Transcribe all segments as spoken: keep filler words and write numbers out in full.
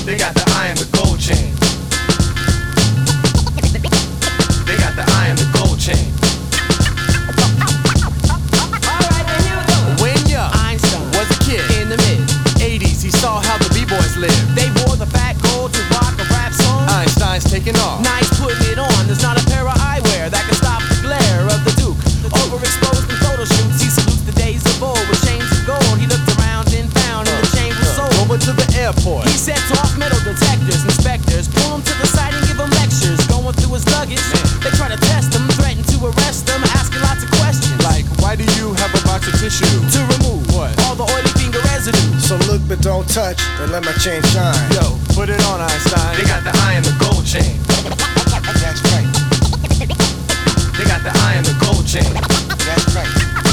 They got the eye and the gold chain. They got the eye and the gold chain. Alright, then you go. When young Einstein was a kid in the mid eighties, he saw how the B-boys lived. They wore the fat gold to rock a rap song. Einstein's taking off. Nice putting it on. There's not a pair of eyewear that can stop the glare of the Duke. Overexposed in photo shoots, he salutes the days of old with chains of gold. He looked around and found in the chain was sold. Over to the airport. He sets off metal detectors, inspectors, pull him to the side and give him lectures. Going through his luggage, they try to test him, threaten to arrest him, asking lots of questions. Like, why do you have a box of tissue? To remove what? All the oily finger residue. So look but don't touch, and let my chain shine. Yo, put it on, Einstein. They got the eye and the gold chain. That's right. They got the eye and the gold chain. That's right.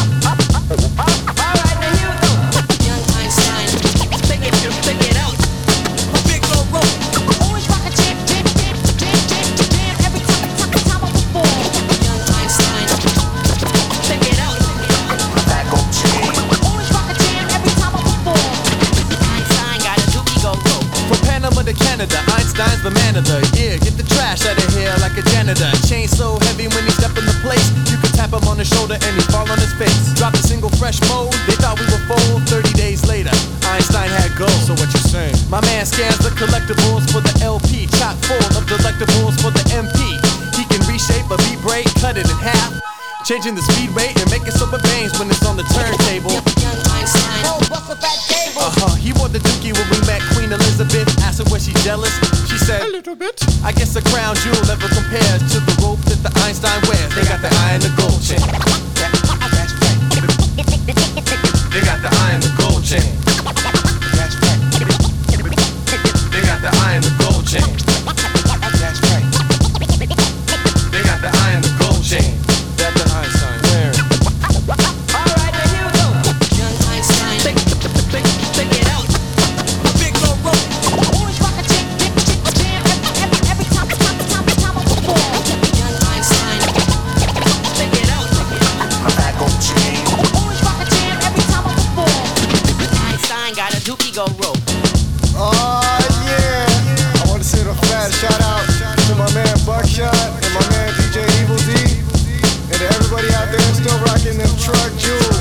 Alright, then you go. Young Einstein, take it, take it out. A big old rope. Always rock a jam, jam, jam, jam, jam, jam. Every time, time, time I perform. Young Einstein, take it out. That gold chain. Always rock a jam every time I perform. Einstein got a dookie go go. From Panama to Canada, Einstein's the man of the year. Get the trash out of here like a janitor. Chain so heavy when he step in the place, you can tap him on the shoulder and he fall on his face. Drop a single fresh mold, they thought we were full. Thirty days later, Einstein had gold. So what you saying? My man scans the collectibles for the L P, chock full of delectables for the M P. He can reshape a beat break, cut it in half, changing the speed rate and making super bangs when it's on the turntable. Young Einstein, Oh, bust a fat table. Uh-huh, he wore the dookie when we met Queen Elizabeth. Asked her was she jealous, she said, a little bit. I guess a crown jewel never compares to the rope that the Einstein wears. They got the eye and the gold chain. That's right. They got the eye and the gold chain. That's right. They got the eye and the gold chain. That's right. They got the eye and the gold chain. That the Einstein wearing. alright, then you go. Young Einstein, take, take, take it out. A big old rope. Always rock a jam, jam, jam, jam. Every, every, every time, time, time, time I perform. Young Einstein, take it out. That gold chain. Always rock a jam every time I perform. Einstein got a dookie go rope. Oh, yeah. I want to send a fat shout out to my man Buckshot and my man D J Evil D. And to everybody out there still rocking them truck jewels.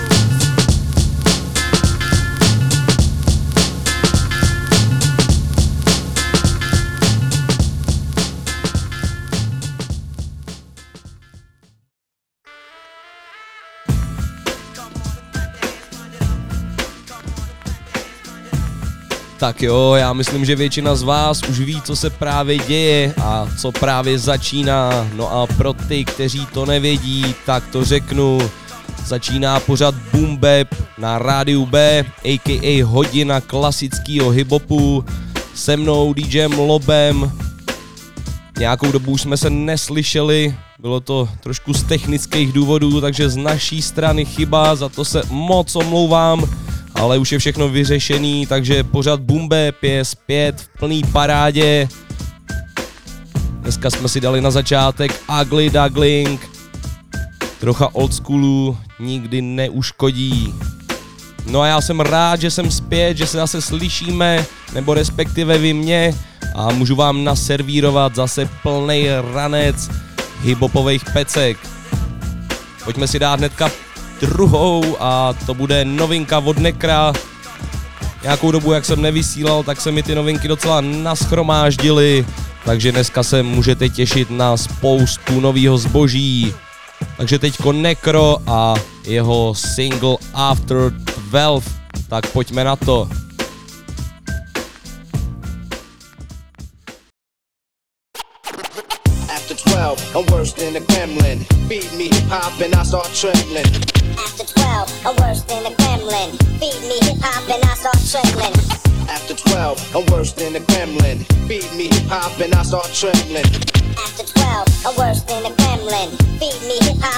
Tak jo, já myslím, že většina z vás už ví, co se právě děje a co právě začíná. No a pro ty, kteří to nevědí, tak to řeknu. Začíná pořad Boom Bap na rádiu B, a k a hodina klasického hiphopu. Se mnou DJem Lobem. Nějakou dobu už jsme se neslyšeli, bylo to trošku z technických důvodů, takže z naší strany chyba, za to se moc omlouvám. Ale už je všechno vyřešený, takže pořad Boom Bap je zpět v plný parádě. Dneska jsme si dali na začátek Ugly Duckling. Trocha old schoolu nikdy neuškodí. No a já jsem rád, že jsem zpět, že se zase slyšíme, nebo respektive vy mě. A můžu vám naservírovat zase plnej ranec hiphopových pecek. Pojďme si dát hnedka druhou a to bude novinka od Nekra. Nějakou dobu, jak jsem nevysílal, tak se mi ty novinky docela naschromáždily, takže dneska se můžete těšit na spoustu novýho zboží. Takže teďko Nekro a jeho single After twelve, tak pojďme na to. twelve, I'm worse than a gremlin. Feed me hip hop and I start trembling. After twelve, I'm worse than a gremlin. Feed me hip hop and I start trembling. After twelve, I'm worse than a gremlin. Feed me hip hop and I start trembling. After twelve, I'm worse than a gremlin. Feed me hip hop and I start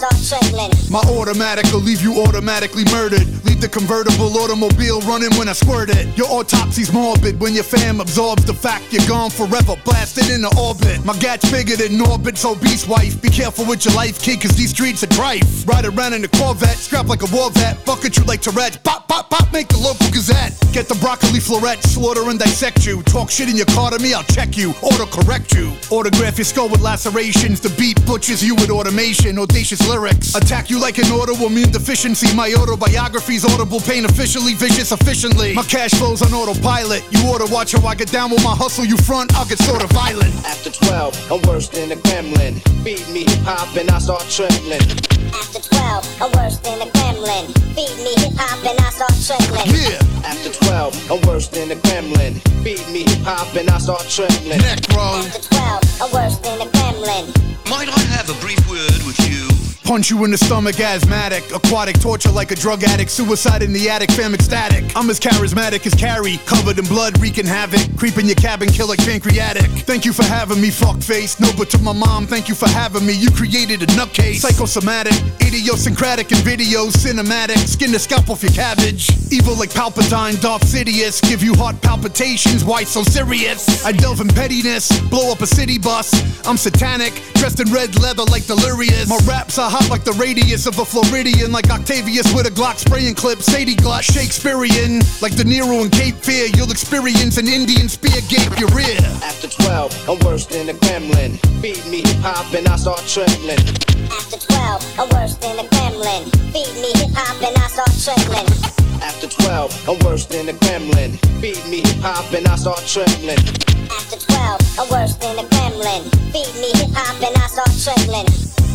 start trembling. My automatic will leave you automatically murdered. Leave the convertible automobile running when I squirt it. Your autopsy's morbid when your fam absorbs the fact you're gone forever, blasted into orbit. My gat's bigger than Orbit's obese wife. Be careful with your life, kid, cause these streets are trife. Ride around in a Corvette, strapped like a war vet. Bucket you like Tourette's, pop, pop, pop, make the local gazette. Get the broccoli florette, slaughter and dissect you. Talk shit in your car to me, I'll check you, auto-correct you. Autograph your skull with lacerations. The beat butchers you with automation, audacious lyrics. Attack you like an autoimmune deficiency. My autobiography's audible pain, officially vicious efficiently. My cash flow's on autopilot. You oughta watch how I get down with my hustle. You front, I'll get sorta violent. After twelve, I'm worse than a gremlin. Feed me hip-hop and I start trembling. After twelve, I'm worse than a gremlin. Feed me hip-hop and I start trembling. Yeah. After twelve, I'm worse than a gremlin. Feed me hip-hop and I start trembling. Necro. After twelve, I'm worse than a gremlin. Might I have a brief word with you? Punch you in the stomach, asthmatic. Aquatic torture like a drug addict. Suicide in the attic, fam ecstatic. I'm as charismatic as Carrie, covered in blood, wreaking havoc. Creeping your cabin, kill like pancreatic. Thank you for having me, fuckface. No, but to my mom, thank you for having me. You created a nutcase. Psychosomatic, idiosyncratic in videos, cinematic. Skin the scalp off your cabbage. Evil like Palpatine, Darth Sidious. Give you heart palpitations, why so serious? I delve in pettiness, blow up a city bus. I'm satanic, dressed in red leather like delirious. My raps are hot like the radius of a Floridian. Like Octavius with a Glock spraying clip. Sadie Glut, Shakespearean. Like De Niro in Cape Fear. You'll experience an Indian spear gape your rear. After twelve, I'm worse than a gremlin. Feed me hip-hop and I start trembling. After twelve, I'm worse than a gremlin. Feed me hip-hop and I start trembling. After twelve, I'm worse than a gremlin. Feed me hip-hop and I start trembling. After twelve, I'm worse than a gremlin. Feed me hip-hop and I start trembling.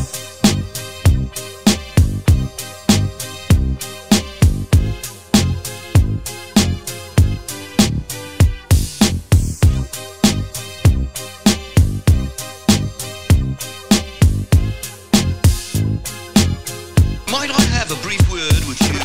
Might I have a brief word with you?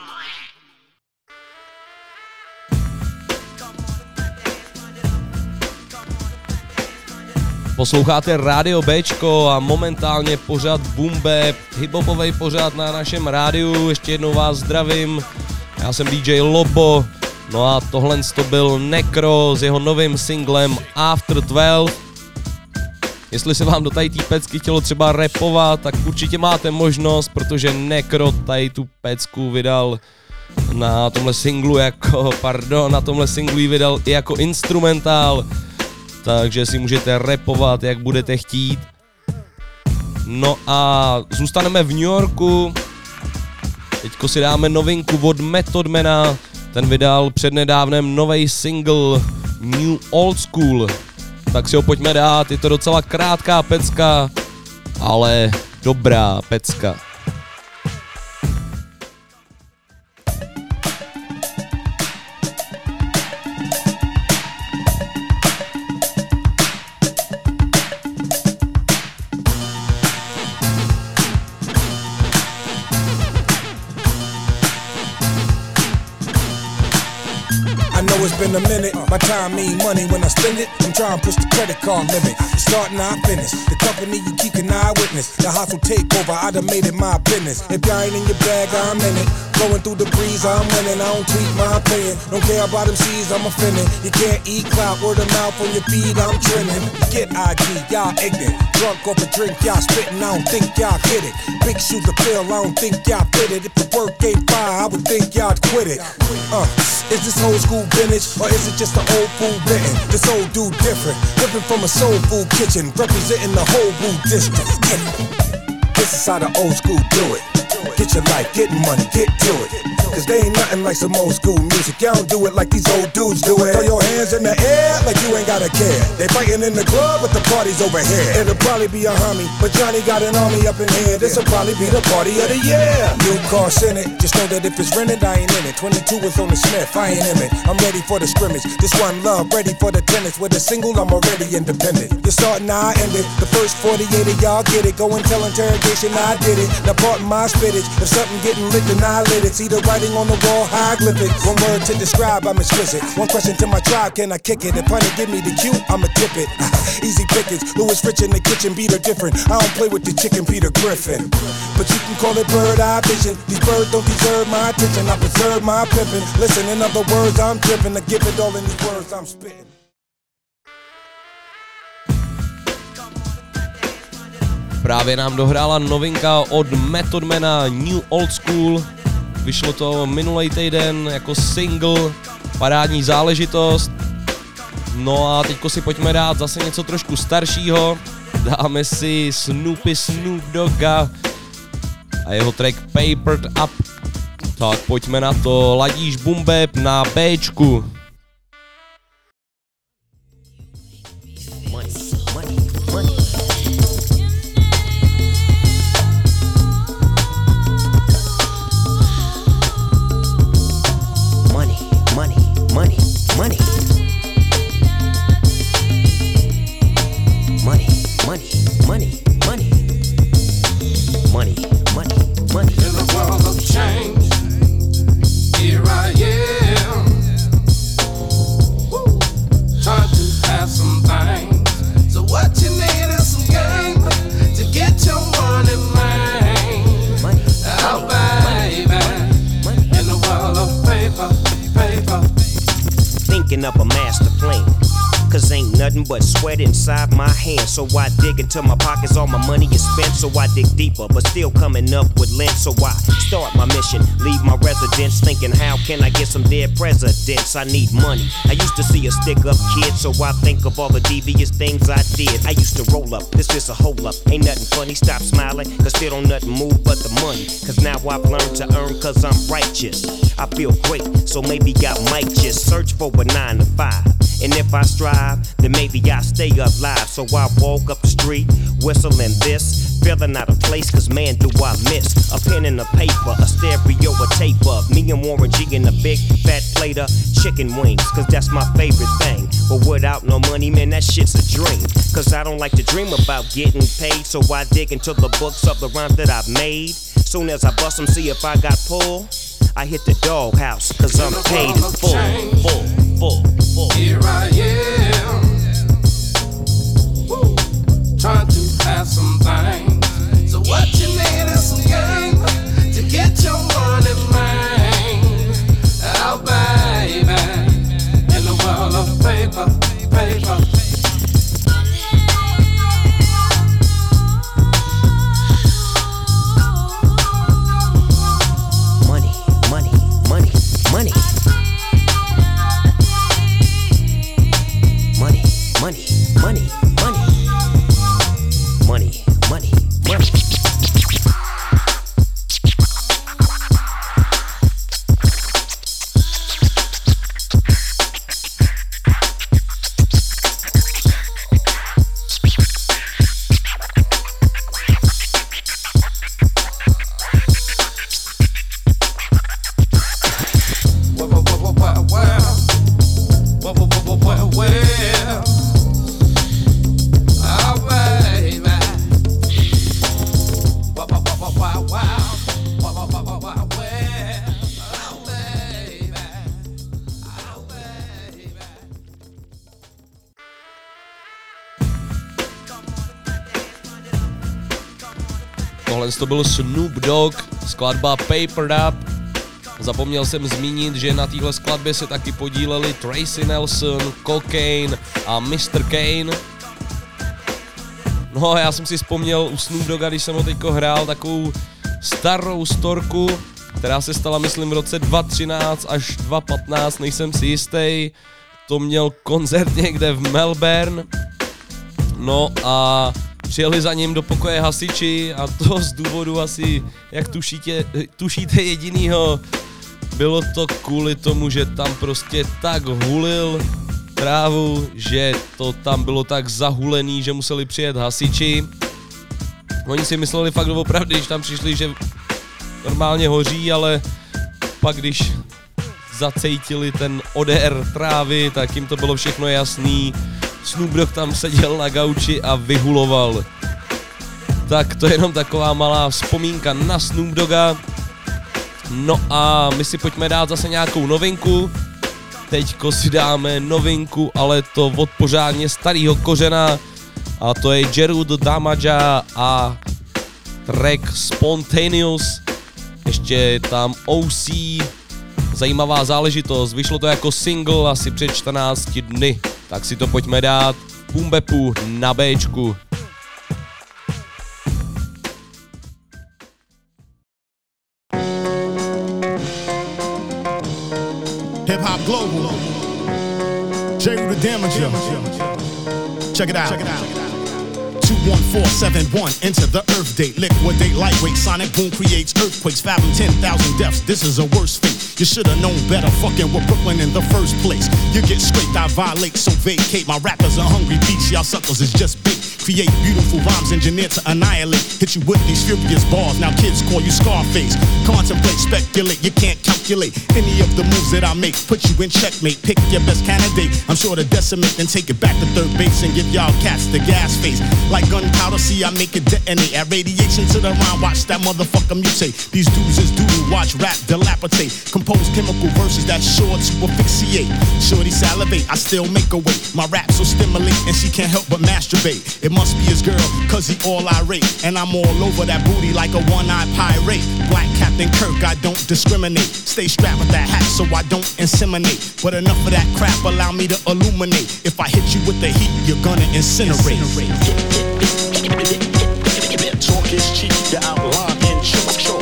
Posloucháte Rádio Bčko a momentálně pořad Boom Bap, hiphopovej pořad na našem rádiu. Ještě jednou vás zdravím, já jsem D J Lobo, no a tohle to byl Necro s jeho novým singlem After twelve. Jestli se vám do tady té pecky chtělo třeba rapovat, tak určitě máte možnost, protože Necro tady tu pecku vydal na tomhle singlu jako, pardon, na tomhle singlu ji vydal i jako instrumentál, takže si můžete rapovat, jak budete chtít. No a zůstaneme v New Yorku, teďko si dáme novinku od Method Mana, ten vydal přednedávnem novej single New Old School. Tak si ho pojďme dát, je to docela krátká pecka, ale dobrá pecka. It's been a minute, my time mean money when I spend it. I'm trying to push the credit card limit. Starting, I finish. The company you keep an eyewitness. The hustle takeover, I done made it my business. If y'all ain't in your bag, I'm in it. Blowing through the breeze, I'm winning. I don't tweet my opinion. Don't care about them C's, I'm offended. You can't eat clout, word of mouth on your feed, I'm trending. Get I G, y'all ignorant. Drunk off a drink, y'all spitting, I don't think y'all get it. Big shoes to fill, I don't think y'all fit it. If the work ain't fire, I would think y'all quit it. Uh, is this old school vintage, or is it just an old food written? This old dude different, living from a soul food kitchen, representing the whole Wu district. Get it. This is how the old school do it. Get your life, get money, get to it. Cause they ain't nothing like some old school music. Y'all don't do it like these old dudes do it. Throw your hands in the air like you ain't gotta care. They fighting in the club, but the party's over here. It'll probably be a homie, but Johnny got an army up in here. This'll probably be the party of the year. New car Senate, just know that if it's rented, I ain't in it. twenty-two is on the Smith, I ain't in it. I'm ready for the scrimmage. This one love, ready for the tennis. With a single, I'm already independent. You're starting, I end it. The first forty-eight of y'all get it. Go and tell interrogation, I did it. Now pardon my spit. fitted. If something getting lit, then I lit it. See the writing on the wall, hieroglyphics. One word to describe, I'm exquisite. One question to my tribe, can I kick it? If honey give me the cue, I'ma tip it. Easy pickings, Louis Rich in the kitchen, beat her different. I don't play with the chicken, Peter Griffin. But you can call it bird eye vision. These birds don't deserve my attention. I preserve my pimpin'. Listen, in other words, I'm drippin'. I give it all in these words I'm spittin'. Právě nám dohrála novinka od Method Mana New Old School. Vyšlo to minulý týden jako single, parádní záležitost. No a teďko si pojďme dát zase něco trošku staršího. Dáme si Snoopy Snoop Dogga a jeho track Papered Up. Tak pojďme na to, ladíš boom bap na Bčku. Money, money, money. Money, money, money, money. Money, money, money, money. Money, money, money. In the world of change, here I am. Woo. Trying to have some things. So what you need is some game to get your money, man. Money, Oh, baby. In the world of paper, paper. thinking up a master plan. Cause ain't nothing but sweat inside my hands. So I dig into my pockets, all my money is spent. So I dig deeper, but still coming up with lint. So I start my mission, leave my residence, thinking how can I get some dead presidents? I need money. I used to see a stick up kid, so I think of all the devious things I did. I used to roll up, this is a hold up. Ain't nothing funny, stop smiling, cause still don't nothing move but the money. Cause now I've learned to earn cause I'm righteous. I feel great, so maybe I might just search for a nine to five. And if I strive, then maybe I stay alive. So I walk up the street, whistling this, feeling out of place, cause man do I miss a pen and a paper, a stereo, a tape of me and Warren G in a big fat plate of chicken wings, cause that's my favorite thing. But without no money, man, that shit's a dream. Cause I don't like to dream about getting paid, so I dig into the books of the rhymes that I've made. Soon as I bust them, see if I got pull, I hit the doghouse, cause I'm paid in full, full, full, full. Here I am. Woo. Trying to have some things. So what you need is some game to get your money, man. Oh, baby. In the world of paper, paper. Money, money, money, money. Money, money, money, money. Money, money, money. Tohle to byl Snoop Dogg, skladba Papered Up. Zapomněl jsem zmínit, že na téhle skladbě se taky podíleli Tracy Nelson, Cocaine a mister Kane. No a já jsem si vzpomněl u Snoop Dogga, když jsem ho teďko hrál, takovou starou storku, která se stala, myslím, v roce dva tisíce třináct až dva tisíce patnáct, nejsem si jistý. To měl koncert někde v Melbourne. No a přijeli za ním do pokoje hasiči a to z důvodu asi, jak tušíte, tušíte jedinýho, bylo to kvůli tomu, že tam prostě tak hulil trávu, že to tam bylo tak zahulený, že museli přijet hasiči. Oni si mysleli fakt opravdu, když tam přišli, že normálně hoří, ale pak když zacejtili ten odér trávy, tak jim to bylo všechno jasný. Snoop Dogg tam seděl na gauči a vyhuloval. Tak to je jenom taková malá vzpomínka na Snoop Dogga. No a my si pojďme dát zase nějakou novinku. Teďko si dáme novinku, ale to od pořádně starého kořena. A to je Jeru the Damaja a track Spontaneous. Ještě je tam O C. Zajímavá záležitost, vyšlo to jako single asi před čtrnácti dny. Tak si to pojďme dát. Boom Bapu na Bčku. Hip Hop Global, Jeru the Damaja. Check it out. Check it out. two one four seven one, enter the Earth date. Liquidate lightweight, sonic boom creates earthquakes. Fathom ten thousand deaths, this is a worse fate. You should've known better, fucking with Brooklyn in the first place. You get scraped, I violate, so vacate. My rappers are hungry beats, y'all suckers is just bait. Create beautiful rhymes engineered to annihilate. Hit you with these furious bars, now kids call you Scarface. Contemplate, speculate, you can't calculate any of the moves that I make. Put you in checkmate, pick your best candidate. I'm sure to decimate, then take it back to third base and give y'all cats the gas face. Like gunpowder, see I make it detonate. Add radiation to the rhyme, watch that motherfucker mutate. These dudes is doodle, watch rap dilapidate. Compose chemical verses that sure to asphyxiate. Shorty salivate, I still make a way. My raps will stimulate and she can't help but masturbate. It must be his girl, cause he all irate. And I'm all over that booty like a one-eyed pirate. Black Captain Kirk, I don't discriminate. Stay strapped with that hat so I don't inseminate. But enough of that crap, allow me to illuminate. If I hit you with the heat, you're gonna incinerate. Talk is cheap, the outline in chalk chalk.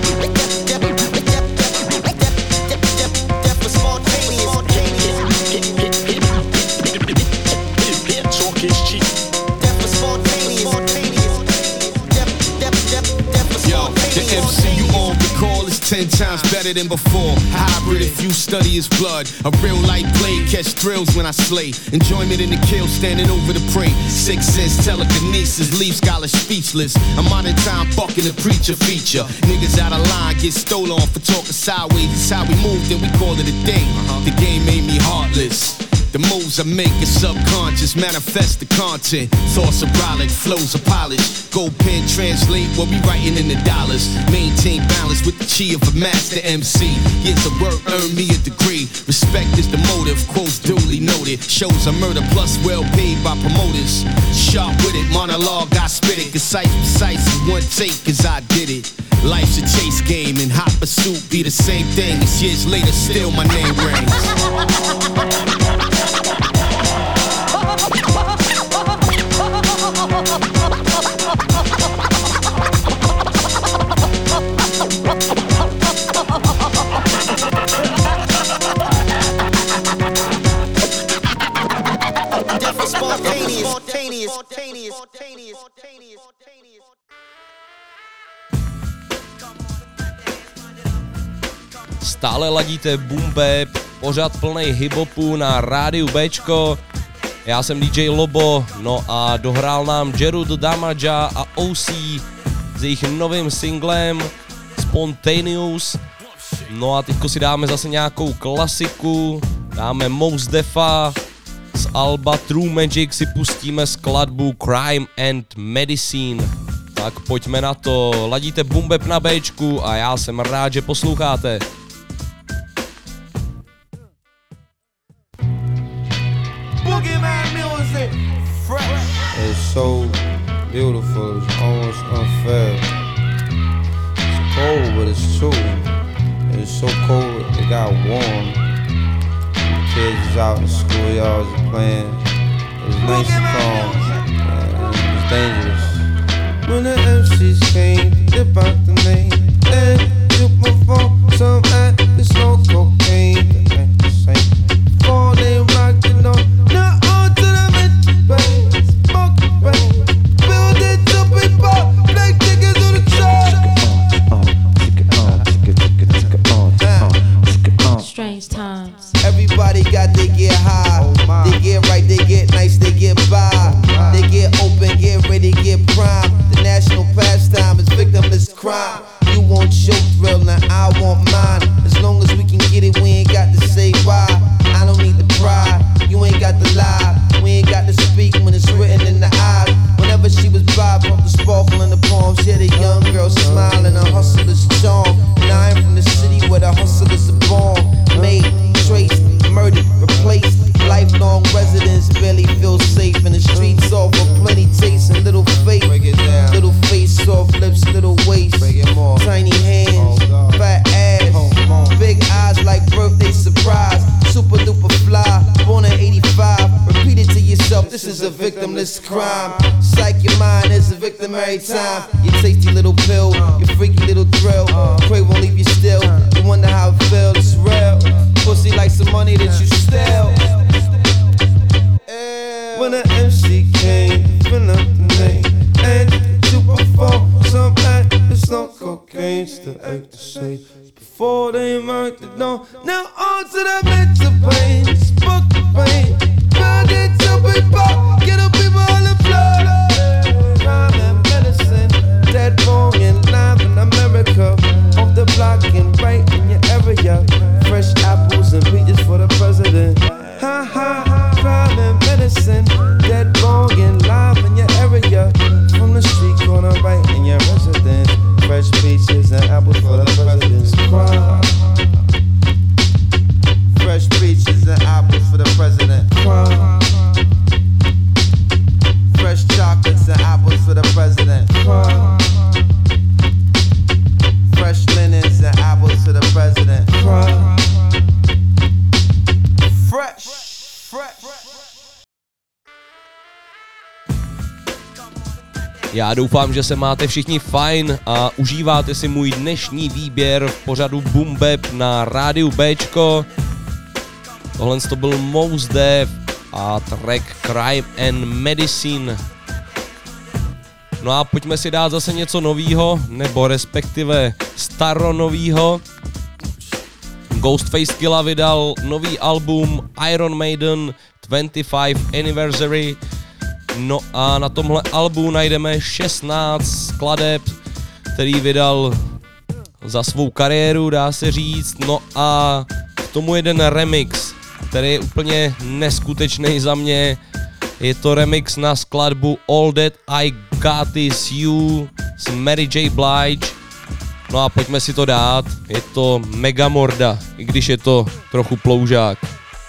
Talk is cheap. Yo, the M C you all recall is ten times better than before. Hybrid if you study his blood. A real light blade, catch thrills when I slay. Enjoyment in the kill, standing over the prey. Six sense, telekinesis, leave scholars speechless. I'm on in time, fucking the preacher feature. Niggas out of line, get stolen for talking sideways. It's how we moved and we call it a day. The game made me heartless. The moves I make is subconscious, manifest the content. Thoughts are brolic, flows are polished. Gold pen translate what we writing in the dollars. Maintain balance with the chi of a master M C. Years of work earn me a degree. Respect is the motive, quotes duly noted. Shows a murder plus well paid by promoters. Sharp with it, monologue I spit it. Concise, precise, in one take cause I did it. Life's a chase game and hot pursuit be the same thing. It's years later, still my name rings. Stále ladíte Boom Bap, pořád plnej hip-hopu na rádiu Bčko. Já jsem D J Lobo, no a dohrál nám Jeru the Damaja a O C s jejich novým singlem Spontaneous. No a teďko si dáme zase nějakou klasiku, dáme Mos Defa, z alba True Magic si pustíme skladbu Crime and Medicine. Tak pojďme na to, ladíte Boom Bap na Bčku a já jsem rád, že posloucháte. It's so beautiful, it's almost unfair. It's cold, but it's true. It's so cold, it got warm. The kids is out in the schoolyards playing. It's nice and calm, and it's dangerous. When the M Cs came, dip out the name, and you perform some at the snow cocaine. That ain't the same. Fall they rock, you know, now on to the mid-bay. Strange times. Everybody got they get high, oh they get right, they get nice, they get by, oh they get open, get ready, get prime. The national pastime is victimless crime. You want your thrill, now I want mine. As long as we can get it, we ain't got to say why. I don't need the pride, you ain't got to lie. We ain't got to speak when it's written in the eyes. Whenever she was by, pump the sparkle in the victimless crime. Psych your mind is a victim every time. Your tasty little pill, your freaky little thrill. Pray won't leave you still. You wonder how it feels, it's real. Pussy like some money that you steal. When the M C came, fill up the name, and you perform some act, it's no cocaine, still act the same. Before they marked it down, now on to the mental pain, spoke the pain, burn it to people, get up people on the floor. Crime and medicine, dead wrong and live in America, off the block and right in your area, fresh apples and peaches for the president. Ha ha, crime and medicine, dead wrong and live in your area, from the street corner right in your residence, fresh peaches and apples for the president's crime. Fresh peaches and apples for the president crime. Fresh chocolates and apples for the president crime. Fresh linens and apples for the president crime. Fresh, fresh. Já doufám, že se máte všichni fajn a užíváte si můj dnešní výběr v pořadu Boom Bap na rádiu Bčko. Tohle to byl Mos Def a track Crime and Medicine. No a pojďme si dát zase něco novýho, nebo respektive staronovýho. Ghostface Killah vydal nový album Iron Maiden dvacátého Anniversary. No a na tomhle albu najdeme šestnáct skladeb, který vydal za svou kariéru, dá se říct. No a k tomu jeden remix, který je úplně neskutečný za mě. Je to remix na skladbu All That I Got Is You s Mary J. Blige. No a pojďme si to dát, je to mega morda, i když je to trochu ploužák.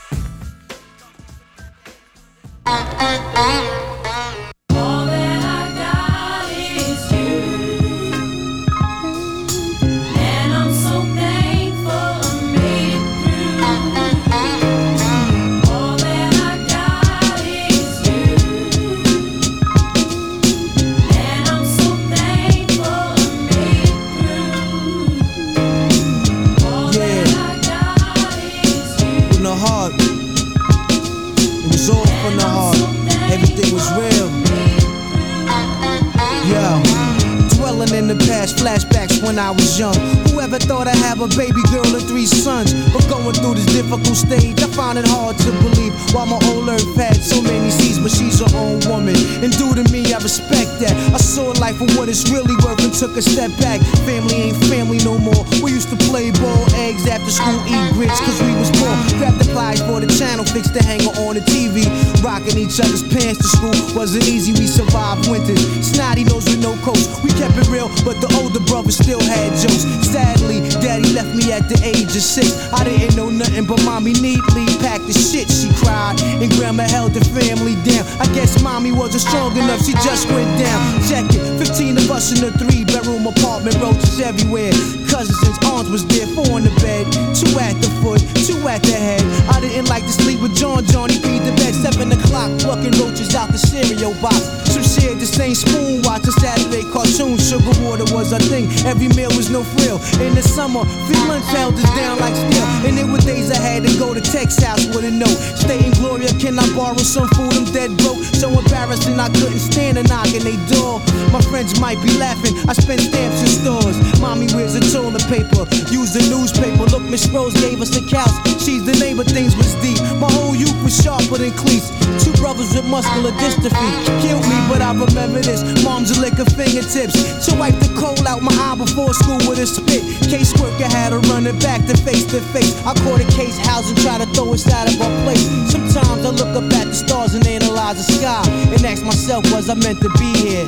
Flashbacks when I was young. Whoever thought I'd have a baby girl and three sons? But going through this difficult stage, I found it hard to believe. Why my old earth had so many seas, but she's her own woman. And due to me, I respect that. I saw life for what it's really worth and took a step back. Family ain't family no more. We used to play ball, eggs after school, eat grits, cause we was poor. Grab the pliers for the channel, fix the hanger on the T V. Rocking each other's pants to school wasn't easy, we survived winters. Snotty nose with no coats, we kept it real, but the older brother still had jokes. Sadly, daddy left me at the age of six. I didn't know nothing but mommy neatly packed the shit, she cried. And grandma held the family down. I guess mommy wasn't strong enough, she just went down. Check it, fifteen of us in a three bedroom apartment, roaches everywhere. Cousins and aunts was there, four in the bed, two at the foot, two at the head. I didn't like to sleep with John, Johnny feed the bed, seven o'clock, plucking roaches out the cereal box. Some shared the same spoon, watching Saturday cartoons. Sugar water was a thing, every meal was no frill. In the summer, free lunch held us down like steel. And there were days I had to go to Tech's house with a note. Stay in Gloria, can I borrow some food? I'm dead broke, so embarrassing I couldn't stand a knock in they door. My friends might be laughing, I spent stamps in stores. Mommy wears a toilet paper, use the newspaper. Look, Miss Rose gave us a couch, she's the neighbor, things was deep. My whole youth was sharper than cleats. Two brothers with muscular dystrophy killed me, but I remember this. Mom's a lick of fingertips to wipe the coal out my eye before school with a spit. Case worker had her running back to face to face. I caught a case house and try to throw us out of our place. Sometimes I look up at the stars and analyze the sky and ask myself, was I meant to be here?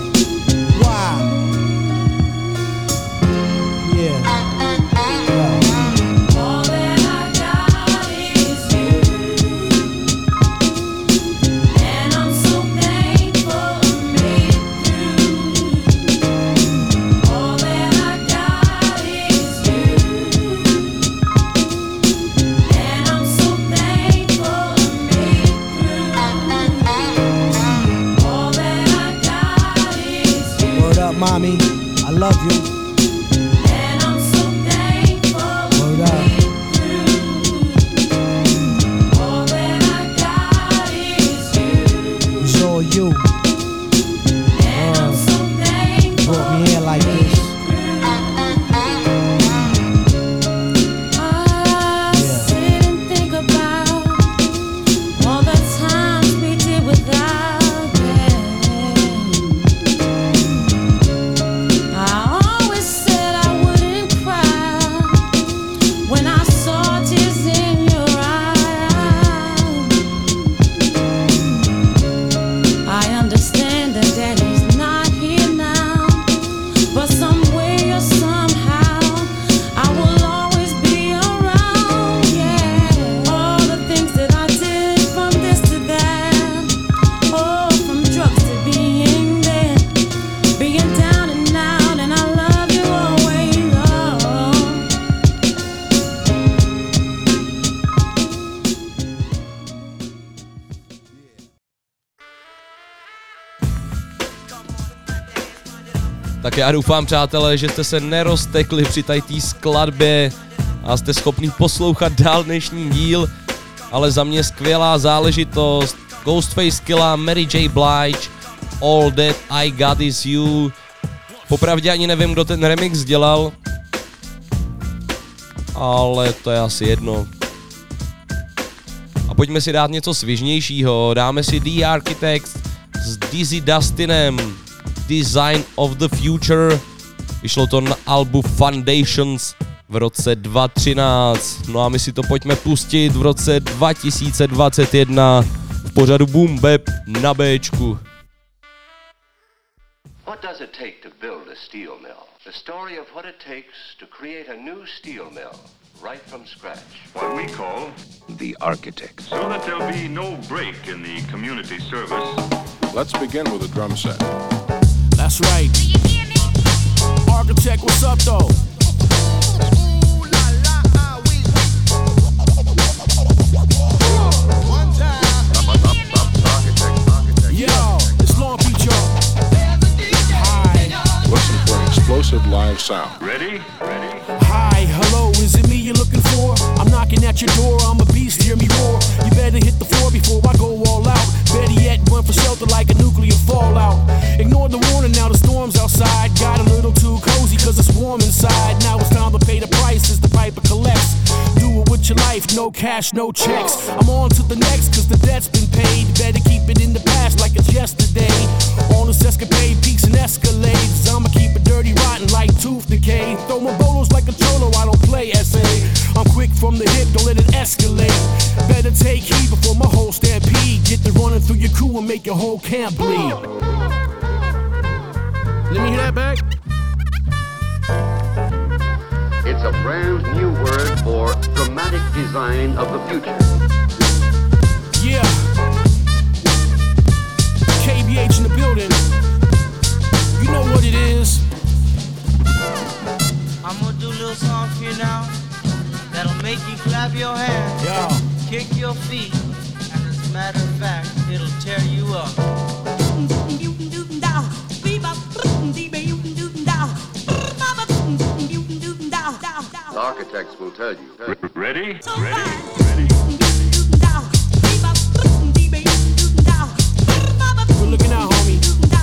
Why? Yeah. love you. And I'm so thankful to be through. All that I got is you. It's all you. And I'm so thankful. Brought me here like this. I sit and think about all the times we did without them. I always said I wouldn't cry when I saw tears in your eyes. I understand that Daddy's not here now, but some way or somehow I will always be around. Yeah, all the things that I did, from this to that, oh, from drugs to being there, being down and out, and I love you always. Oh. Tak já doufám, přátelé, že jste se neroztekli při tady té skladbě a jste schopni poslouchat dál dnešní díl, ale za mě skvělá záležitost. Ghostface Killah, Mary J. Blige, All That I Got Is You. Popravdě ani nevím, kdo ten remix dělal, ale to je asi jedno. A pojďme si dát něco svižnějšího, dáme si The Architects s Dizzy Dustinem, Design of the Future. Vyšlo to na albu Foundations v roce dva tisíce třináct. No a my si to pojďme pustit v roce dva tisíce dvacet jedna v pořadu Boom Bap na Bčku. What does it take to build a steel mill? The story of what it takes to create a new steel mill right from scratch. What we call The Architects. so that there'll be no break in the community service. Let's begin with a drum set. That's right. Architect, what's up though? Yo, it's Long Beach, yo. Hi. Listen for an explosive live sound. Ready? Ready? Hi, hello, is it me you're looking for? I'm knocking at your door, I'm a beast, hear me roar. You better hit the floor before I go all out. Better yet, run for shelter like a nuclear fallout. Ignore the warning, now the storm's outside. Got a little too cozy cause it's warm inside. Now it's time to pay the price as the piper collects. Do it with your life, no cash, no checks. I'm on to the next cause the debt's been paid. Better keep it in the past like it's yesterday. On this escapade, peaks and escalades. I'ma keep it dirty, rotten like tooth decay. Throw my bolos like a cholo, I don't play S A. I'm quick from the hip, don't let it escalate. Better take heed before my whole stampede. Get the running through your crew and make your whole camp bleed. Let me hear that back. It's a brand new word for dramatic design of the future. Yeah. K B H in the building. You know what it is. I'm gonna do a little song for you now that'll make you clap your hands, yeah, kick your feet, and as a matter of fact, it'll tear you up. The Architects will tell you. Ready? Ready? Good looking out, homie.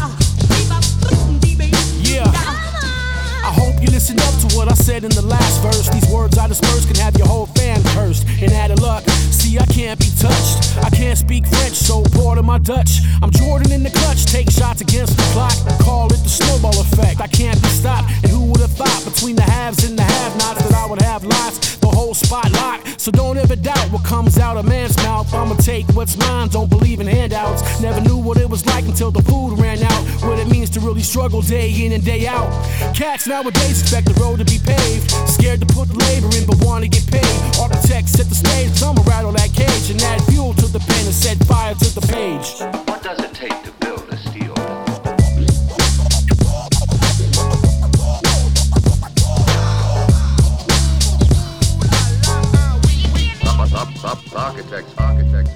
Yeah. I hope you listen up to what I said in the last verse. These words I disperse can have your whole fan cursed. And out of luck, see I can't be touched. I can't speak French, so part of my Dutch. I'm Jordan in the clutch, take shots against the clock. Call it the snowball effect. I can't be stopped. And who would have thought between the haves and the have-nots that I would have lots, the whole spot locked. So don't ever doubt what comes out of man's mouth. I'ma take what's mine, don't believe in handouts. Never knew what it was like until the food ran out. What it means to really struggle day in and day out. Cats nowadays expect the road to be paved. Scared to put the labor in but wanna get paid. Architects set the stage, I'ma rattle that cage and add fuel to the pen and set fire to the page. What does it take to build a steel mill? Architects, architects.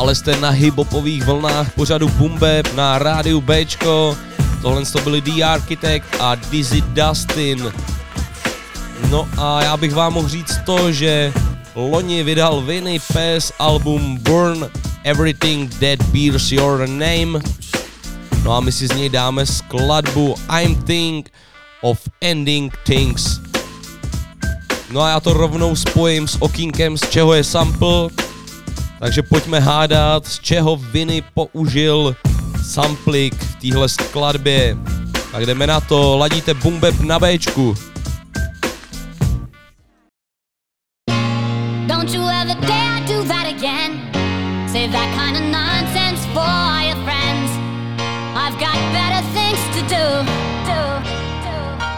Stále jste na hip-hopových vlnách pořadu Boom Bap na rádiu Bčko. Tohle to byli The Architect a Dizzy Dustin. No a já bych vám mohl říct to, že loni vydal Vinny Paz album Burn Everything That Bears Your Name. No a my si z něj dáme skladbu I'm Think of Ending Things. No a já to rovnou spojím s okýnkem, z čeho je sample. Takže pojďme hádat, z čeho Vinny použil samplik v téhle skladbě. Tak jdeme na to, ladíte Boom Bap na Bčku. Don't you ever dare do that again. Save that kind of nonsense for your friends. I've got better things to do. do, do.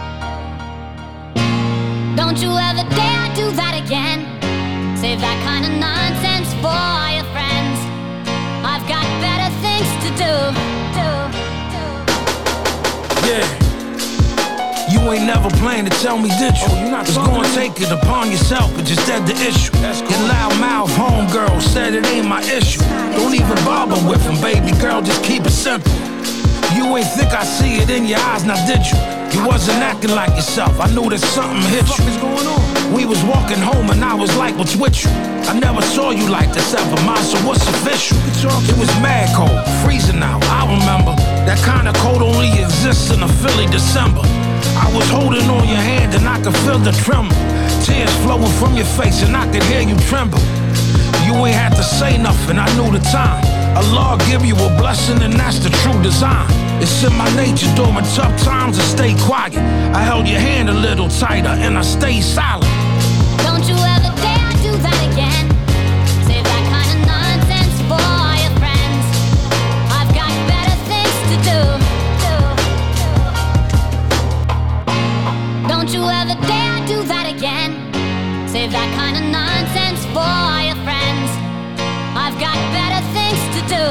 Don't you ever dare do that again. Save that kind of nonsense for your friends. I've got better things to do. do, do. Yeah. You ain't never planned to tell me, did you? Oh, you're not gonna take it upon yourself, but just said the issue. Cool. Your loudmouth homegirl said it ain't my issue. Don't even bother with him, baby girl, just keep it simple. You ain't think I see it in your eyes, now did you? You wasn't acting like yourself, I knew that something hit you. What's going on? We was walking home and I was like, what's with you? I never saw you like this ever, mom, so what's official? It was mad cold, freezing out, I remember. That kind of cold only exists in a Philly December. I was holding on your hand and I could feel the tremor. Tears flowing from your face and I could hear you tremble. You ain't had to say nothing, I knew the time. Allah give you a blessing and that's the true design. It's in my nature during tough times to stay quiet. I held your hand a little tighter and I stayed silent. Don't you ever dare do that again. Save that kind of nonsense for your friends. I've got better things to do. Don't you ever dare do that again. Save that kind of nonsense for your friends. I've got better things to do.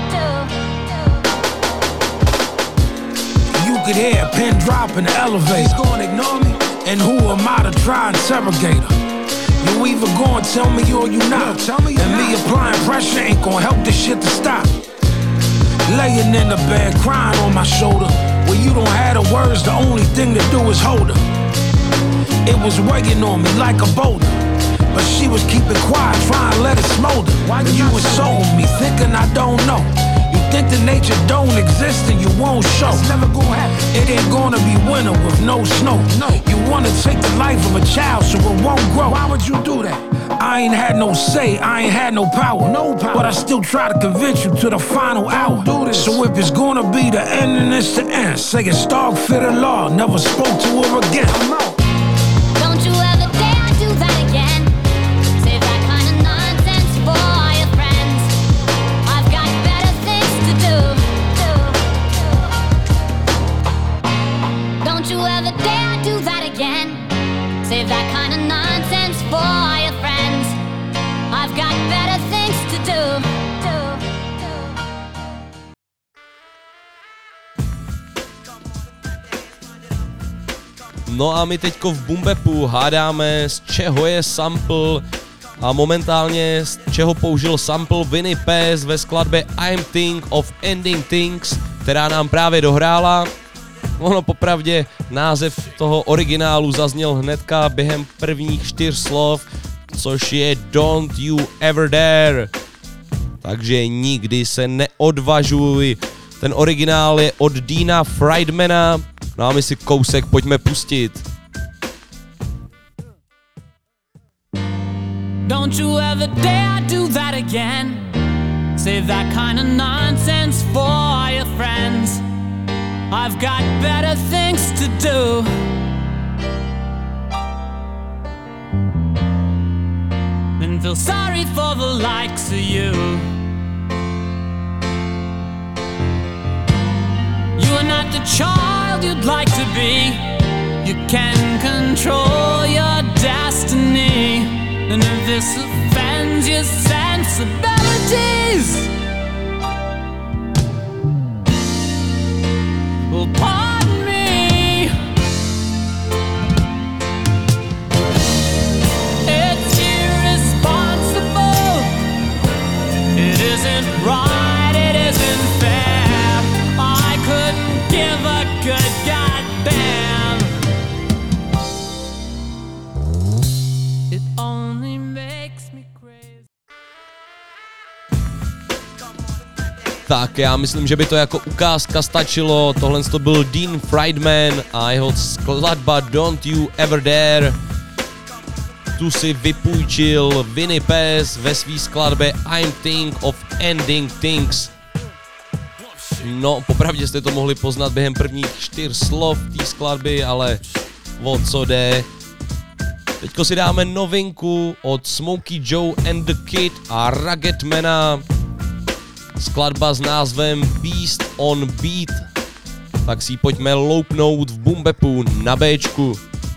You could hear a pin drop in the elevator. He's gonna ignore me? And who am I to try and interrogate her? You either gonna tell me or you not. No, tell me and me not. Applying pressure ain't gonna help this shit to stop. Laying in the bed crying on my shoulder. When you don't have the words, the only thing to do is hold her. It was weighing on me like a boulder, but she was keeping quiet, trying to let it smolder. Why did you insult me, thinking I don't know? You think that nature don't exist and you won't show. It's never gonna happen. It ain't gonna be winter with no snow. No. You wanna take the life of a child so it won't grow. Why would you do that? I ain't had no say, I ain't had no power. No power. But I still try to convince you to the final hour. Do this. So if it's gonna be the end, then it's the end. Say it stark fit the law, never spoke to her again. I'm out. Don't you ever dare do that again. Save that kind of nonsense for your friends. I've got better things to do. Don't you ever dare do that again. Save that kind of nonsense for your friends. I've got better things to do. No a my teďko v Boom Bapu hádáme, z čeho je sample a momentálně z čeho použil sample Vinny Paz ve skladbě I'm Think of Ending Things, která nám právě dohrála. Ono popravdě název toho originálu zazněl hnedka během prvních čtyř slov, což je Don't You Ever Dare. Takže nikdy se neodvažuj. Ten originál je od Deana Friedmana. No a my si kousek pojďme pustit. Don't you ever dare do that again. Save that kind of nonsense for your friends. I've got better things to do. Than feel sorry for the likes of you. You are not the child you'd like to be. You can control your destiny. And if this offends your sensibilities, well, pardon me. It's irresponsible. It isn't Tak já myslím, že by to jako ukázka stačilo. Tohle to byl Dean Friedman a jeho skladba Don't You Ever Dare. Tu si vypůjčil Vinny Paz ve svý skladbě I'm Think of Ending Things. No, popravdě jste to mohli poznat během prvních čtyř slov té skladby, ale o co jde? Teďko si dáme novinku od Smokey Joe and the Kid a Ruggedmana. Skladba s názvem Beast on Beat. Tak si ji pojďme loupnout v Bumbepu na Bčku.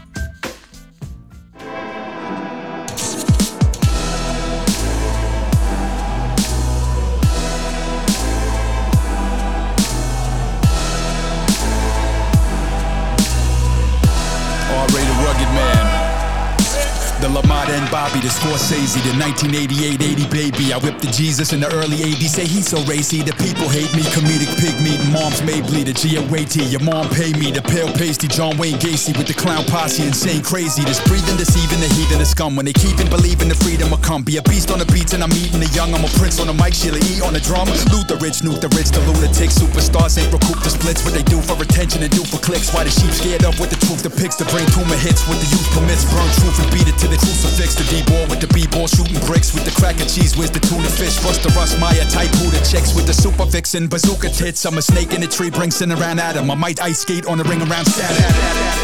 The Lamar and Bobby, the Scorsese, the nineteen eighty-eight eighty baby. I whipped the Jesus in the early eighties. Say he's so racy, the people hate me. Comedic pig meat, mom's may bleed. A G O A T, your mom pay me. The pale pasty, John Wayne Gacy with the clown posse, insane crazy. This breathing, deceiving, the heat and the scum. When they keep and believing the freedom will come. Be a beast on the beats and I'm eating the young. I'm a prince on the mic, Sheila E on the drum. Loot the rich, nuke the rich, the lunatic. Superstars ain't recoup the splits. What they do for attention and do for clicks. Why the sheep scared up with the truth depicts. The brain tumor hits with the youth permits. Burn truth and beat it to the crucifix. The D-ball with the B-ball shooting bricks. With the cracker cheese, where's the tuna fish? Rust the rust, Maya type who the chicks. With the super vixen, bazooka tits. I'm a snake in the tree, bring sin around Adam. I might ice skate on the ring around Saturn.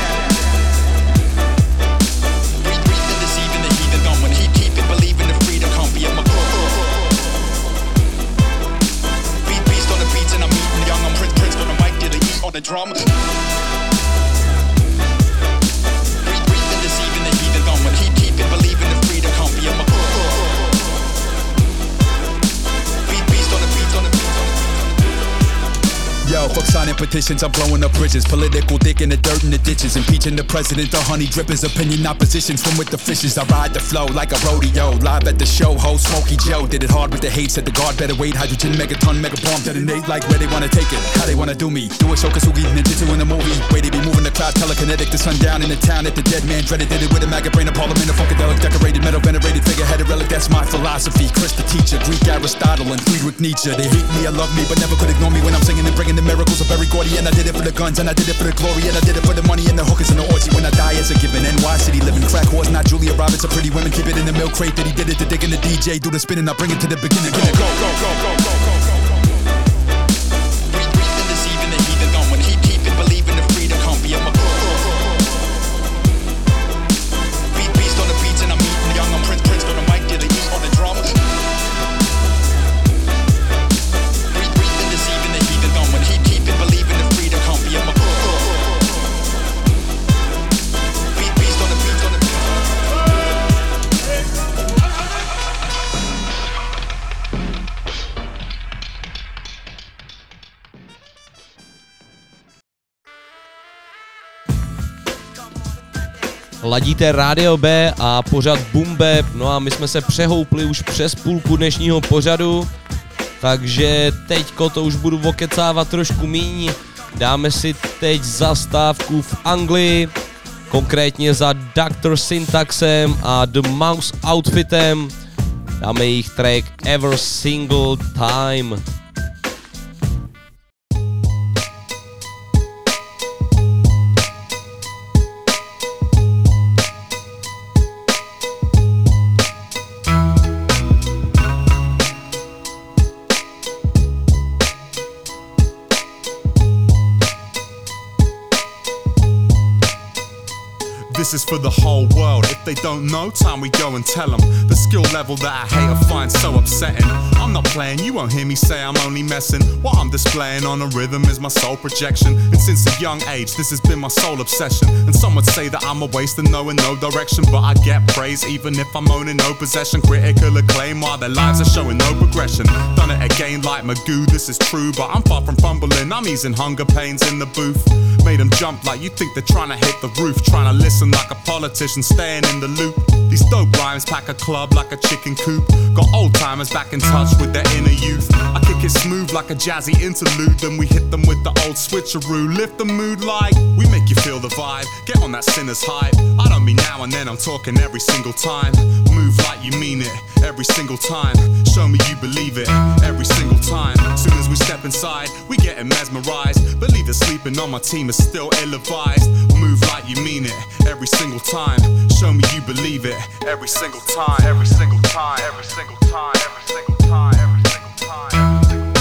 Breathing, deceiving the heathen gum. When he keep it, believing the freedom come be a McCoy. Beat beast on the beats and I'm eating young. I'm Prince Prince on the mic, did the eat on the drum. Breathing, deceiving the heathen gum. When he keep it, believing the freedom come be a McCoy. Beat beast on the beats on the beats on the Yo, fuck signing petitions, I'm blowing up bridges. Political dick in the dirt in the ditches. Impeaching the president, the honey drippers. Opinion opposition, swim with the fishes. I ride the flow like a rodeo. Live at the show, host Smokey Joe. Did it hard with the hate, said the guard better wait. Hydrogen, megaton, mega bomb, detonate like where they wanna take it. How they wanna do me. Do it so Kasugi, ninjutsu in the movie. Way they be moving the cloud, telekinetic. The sun down in the town at the dead man dreaded. Did it with a maggot brain, a parliament, a funkadelic, decorated, metal, venerated figure, had a relic. That's my philosophy. Chris the teacher, Greek Aristotle and Friedrich Nietzsche. They hate me, I love me, but never could ignore me when I'm singing and bringing the miracles of every and I did it for the guns, and I did it for the glory, and I did it for the money and the hookers and the orgy. When I die as a given, N Y City living, crack horse, not Julia Roberts. A pretty women, keep it in the milk crate that he did it to digging the D J, do the spinning, I bring it to the beginning. Go, go, go, go, go, go, go, go. Breathing, deceiving the heathen gum. When he keep it, believing the freedom come be a McCoy. Beat beast on the beats and I'm eating young. I'm Prince Prince on the mic, did the eat on the drum. Breathing, deceiving the heathen gum. When he keep it, believing the freedom come be a McCoy. Beat beast on the beats on the beats. Ladíte Rádio B a pořad Bumbeb, no a my jsme se přehoupli už přes půlku dnešního pořadu, takže teďko to už budu okecávat trošku míň. Dáme si teď zastávku v Anglii, konkrétně za doktor Syntaxem a The Mouse Outfitem. Dáme jejich track Every Single Time. This is for the whole world. If they don't know, time we go and tell them. The skill level that I hate or find so upsetting. I'm not playing, you won't hear me say I'm only messing. What I'm displaying on a rhythm is my soul projection. And since a young age, this has been my sole obsession. And some would say that I'm a waste and knowing no direction. But I get praise even if I'm owning no possession. Critical acclaim while their lives are showing no progression. Done it again like Magoo, this is true. But I'm far from fumbling, I'm easing hunger pains in the booth. Made them jump like you think they're trying to hit the roof. Trying to listen like a politician staying in the loop. These dope rhymes pack a club like a chicken coop. Got old timers back in touch with their inner youth. I kick it smooth like a jazzy interlude. Then we hit them with the old switcheroo. Lift the mood like we make you feel the vibe. Get on that sinner's hype. I don't mean now and then, I'm talking every single time. Move like like you mean it every single time. Show me you believe it every single time. Soon as we step inside, we getting mesmerized. Believe that sleeping on my team is still ill-advised. Move like you mean it every single time. Show me you believe it every single time. Every single time. Every single time. Every single time. Every single time.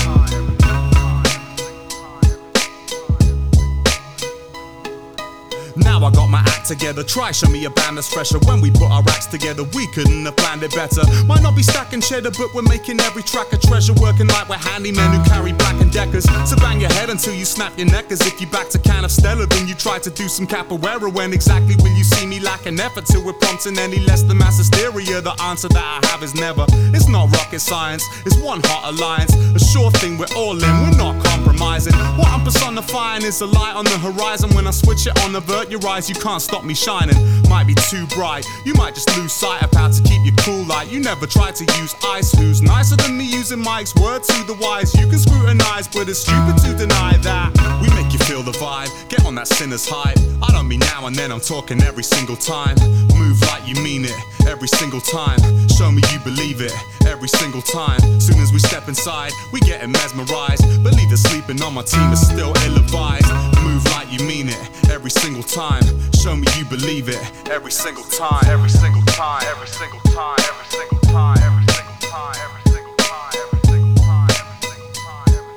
Now I got my act together, try show me a band that's fresher. When we put our acts together, we couldn't have planned it better. Might not be stacking cheddar, but we're making every track a treasure. Working like we're handymen who carry Black and Deckers. So bang your head until you snap your neck. As if you backed a can of Stella, then you try to do some capoeira. When exactly will you see me lacking effort till we're prompting any less than mass hysteria? The answer that I have is never. It's not rocket science, it's one hot alliance. A sure thing we're all in, we're not compromising. What I'm personifying is a light on the horizon. When I switch it on, avert your eyes, you can't stop me shining. Might be too bright, you might just lose sight of how to keep your cool light. You never tried to use ice. Who's nicer than me using Mike's word to the wise? You can scrutinize, but it's stupid to deny that. We make you feel the vibe, get on that sinner's hype. I don't mean now and then, I'm talking every single time. Move like you mean it every single time. Show me you believe it every single time. Soon as we step inside, we getting mesmerized. Believe that sleeping on my team is still ill-advised. Move like you mean it every single time. Show me you believe it every single time. Every single time. Every single time. Every single time. Every single time. Every single time. Every single time. Every single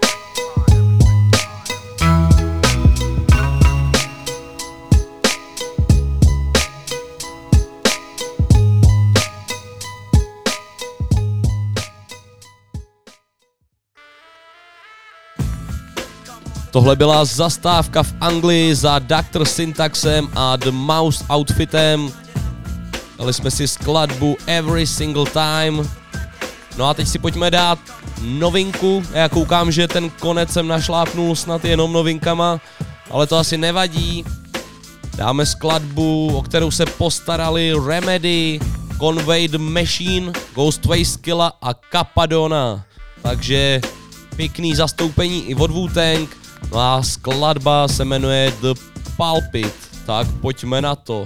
Tohle byla zastávka v Anglii za doktor Syntaxem a The Mouse Outfitem. Dali jsme si skladbu Every Single Time. No a teď si pojďme dát novinku. Já koukám, že ten konec jsem našlápnul snad jenom novinkama, ale to asi nevadí. Dáme skladbu, o kterou se postarali Remedy, Conway the Machine, Ghostface Killah a Capadona. Takže pěkný zastoupení i od Wu-Tang. No a skladba se jmenuje The Pulpit. Tak pojďme na to.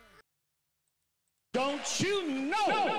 Don't you know?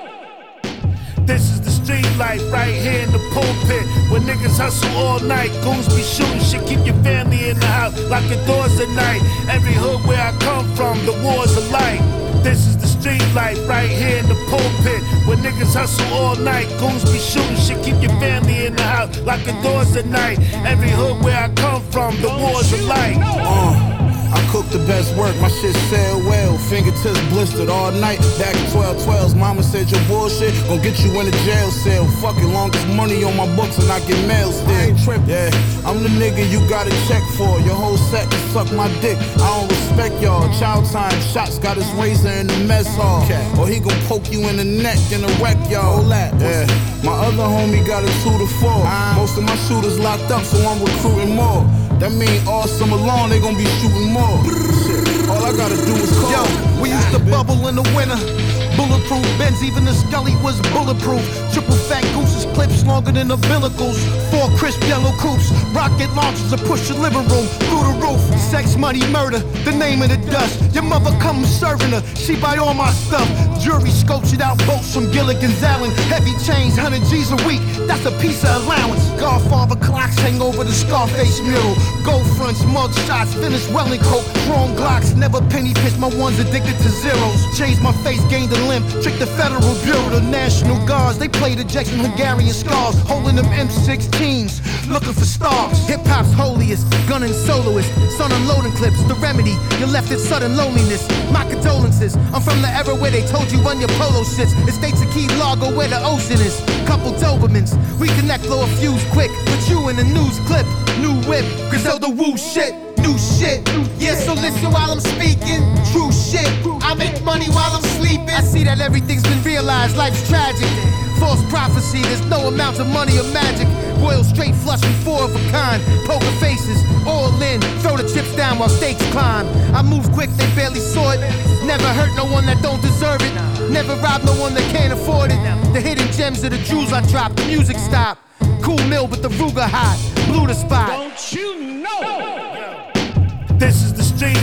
This is the street life right here in the pulpit, where niggas hustle all night, goons be shooting shit, keep your family in the house, lock your doors at night. Every hood where I come from, the war's a light. This is the street life right here in the pulpit, where niggas hustle all night, goons be shooting shit, keep your family in the house, lock your doors at night. Every hood where I come from, the war's a light. Uh. I cook the best work, my shit sell well. Fingertips blistered all night. Back in twelve twelves, mama said your bullshit gon' get you in a jail cell. Fucking longest money on my books and I get mail still. I ain't trippin'. Yeah, I'm the nigga you gotta check for. Your whole set can suck my dick. I don't respect y'all. Child time shots got his razor in the mess hall. Or he gon' poke you in the neck and a wreck y'all. Yeah, my other homie got a two to four. Most of my shooters locked up, so I'm recruiting more. That mean all summer long they gon' be shooting more. Shit, all I gotta do is call. Yo, we used to bubble in the winter. Bulletproof Benz, even the Scully was bulletproof. Triple fat gooses, clips longer than umbilicals. Four crisp yellow coupes, rocket launchers to push your living room through the roof. Sex, money, murder, the name of the dust. Your mother come serving her, she buy all my stuff. Jury sculptured out boats from Gilligan's Island. Heavy chains, one hundred G's a week, that's a piece of allowance. Godfather clocks hang over the Scarface mural. Gold fronts, mug shots, finished welling coat. Chrome Glocks, never penny pinch, my ones addicted to zeros. Changed my face, gained a limp, tricked the Federal Bureau, the National Guards. They played ejection Hungarian scars, holding them M sixteens, looking for stars. Hip-hop's holiest, gunning soloist, son unloading clips, the remedy, you left in sudden loneliness. My condolences, I'm from the era where they told you run your polo shits. Estates of Key Largo where the ocean is. Couple Dobermans, we connect, blow a fuse quick. Put you in a news clip, new whip, Griselda woo shit. New shit, yeah, so listen while I'm speaking. True shit, I make money while I'm sleeping. I see that everything's been realized, life's tragic. False prophecy, there's no amount of money or magic. Royal straight flush with four of a kind. Poker faces, all in, throw the chips down while stakes climb. I move quick, they barely saw it. Never hurt no one that don't deserve it. Never rob no one that can't afford it. The hidden gems of the jewels I drop, the music stop. Cool mill with the Ruger hot, blew the spot. Don't you know? This is the street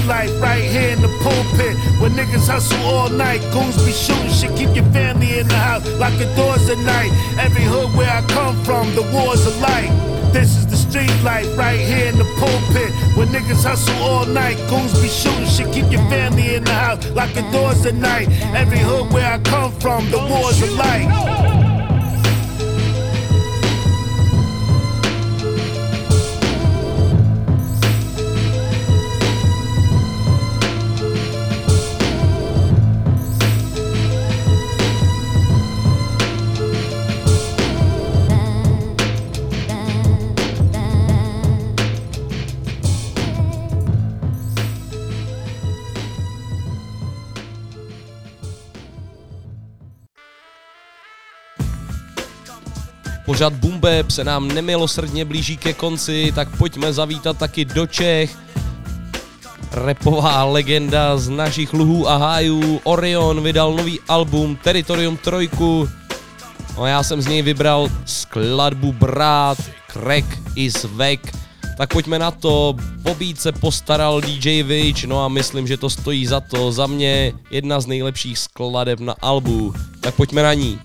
life right here in the pulpit. Where niggas hustle all night, goons be shooting shit, keep your family in the house, lock the doors at night. Every hood where I come from, the wars are light. This is the street life right here in the pulpit. Where niggas hustle all night, goons be shooting shit, keep your family in the house, lock the doors at night. Every hood where I come from, the wars are light. Pořad Boom Bap se nám nemilosrdně blíží ke konci, tak pojďme zavítat taky do Čech. Rapová legenda z našich luhů a hájů Orion vydal nový album Teritorium trojku. No já jsem z něj vybral skladbu Brát, Crack is Back. Tak pojďme na to, po beat se postaral D J Witch, no a myslím, že to stojí za to. Za mě jedna z nejlepších skladeb na albu, tak pojďme na ní.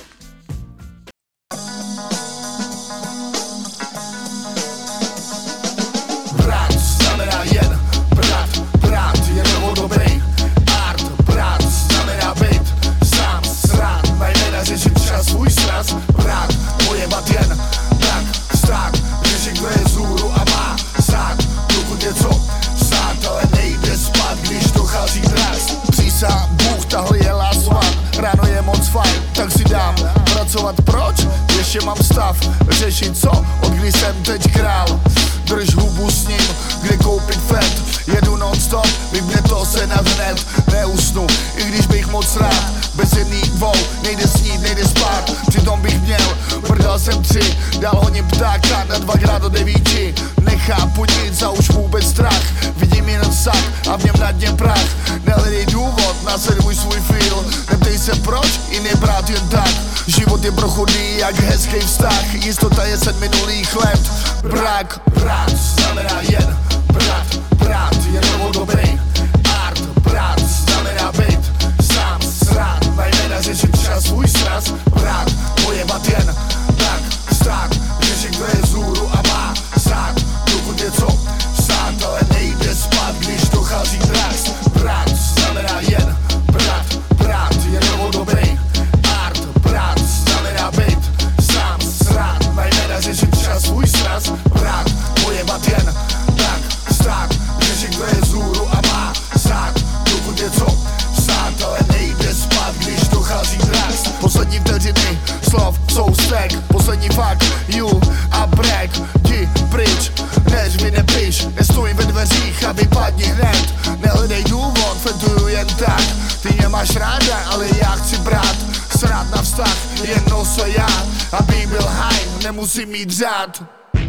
Ještě mám stav, řešit co, od kdy jsem teď král. Drž hubu s ním, kde koupit fet. Jedu non-stop, vybne to se na hned. Neusnu, i když bych moc rád. Bez jedný dvou, nejde snít, nejde spát. Přitom bych měl, prdal jsem tři. Dal honím ptáka na dvakrát do devíti. Nechápu nic a už vůbec strach. Vidím jen sak a v něm na dně prach. Nehledej důvod, nasleduj svůj feel. Neptej se proč, i nebrát jen tak. Život je prochodný jak hezký vztah. Jistota je set minulých let. Brak, brat, znamená jen brat, brat, je novou dobrý. Art, brat, znamená být sám srát. Najména řešit čas, svůj sraz. Brat, pojebat jen tak, stát. Řešit kdo je vzhůru a má sát. Dokud je co sát, ale nejde spát, když dochází drax. Brat, znamená jen brat, brat, je novou dobrý. Art, brat, znamená být sám srát. Najména řešit čas, svůj sraz. Brat, pojebat jen tak, stát. Řešit kdo je vzhůru a má sát. Dokud je co sát, ale nejde spát, když dochází drax. Poslední vteřiny slov jsou stek. Poslední fakt, you a break. Jdi pryč, než vy nepiš. Nestoj ve dveřích a vypadni hned. Nehledej důvod, fetuju jen tak. Ty mě máš ráda, ale já chci brát. Srát na vztah, jen noso já. Aby byl high, nemusím mít řád.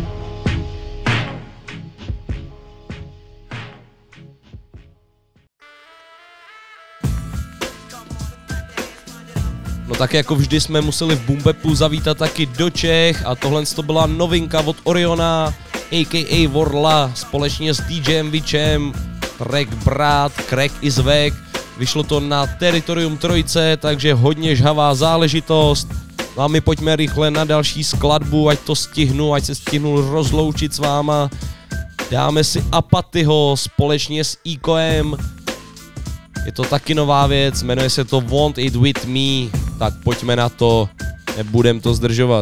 No tak jako vždy jsme museli v Boom Bapu zavítat taky do Čech a tohle to byla novinka od Oriona, a k a. Vorla, společně s DJem Witchem, track Brát, Crack is Back. Vyšlo to na Teritorium trojce, takže hodně žhavá záležitost. No a my pojďme rychle na další skladbu, ať to stihnu, ať se stihnu rozloučit s váma. Dáme si Apatyho společně s Ikoem. Je to taky nová věc, jmenuje se to Want It With Me, tak pojďme na to, nebudem to zdržovat.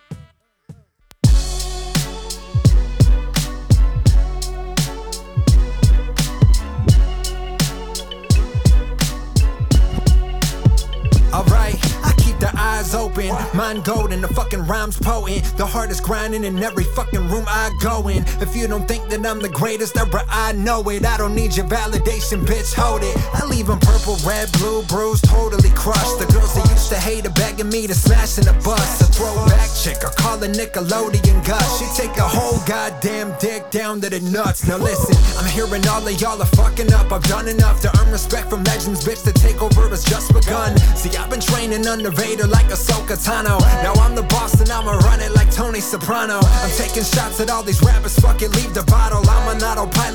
Open, mind golden, the fucking rhymes potent. The hardest grinding in every fucking room I go in. If you don't think that I'm the greatest ever, I know it. I don't need your validation, bitch, hold it. I leave them purple, red, blue, bruised, totally crushed. The girls that used to hate are begging me to smash in the bus. A throwback chick, I call her Nickelodeon Gus. She take a whole goddamn dick down to the nuts. Now listen, I'm hearing all of y'all are fucking up. I've done enough to earn respect from legends, bitch. The takeover has just begun. See, I've been training under Vader like a Ahsoka Tano. Now I'm the boss and I'ma run it like Tony Soprano. I'm taking shots at all these rappers, fuck it, leave the bottle. I'm an autopilot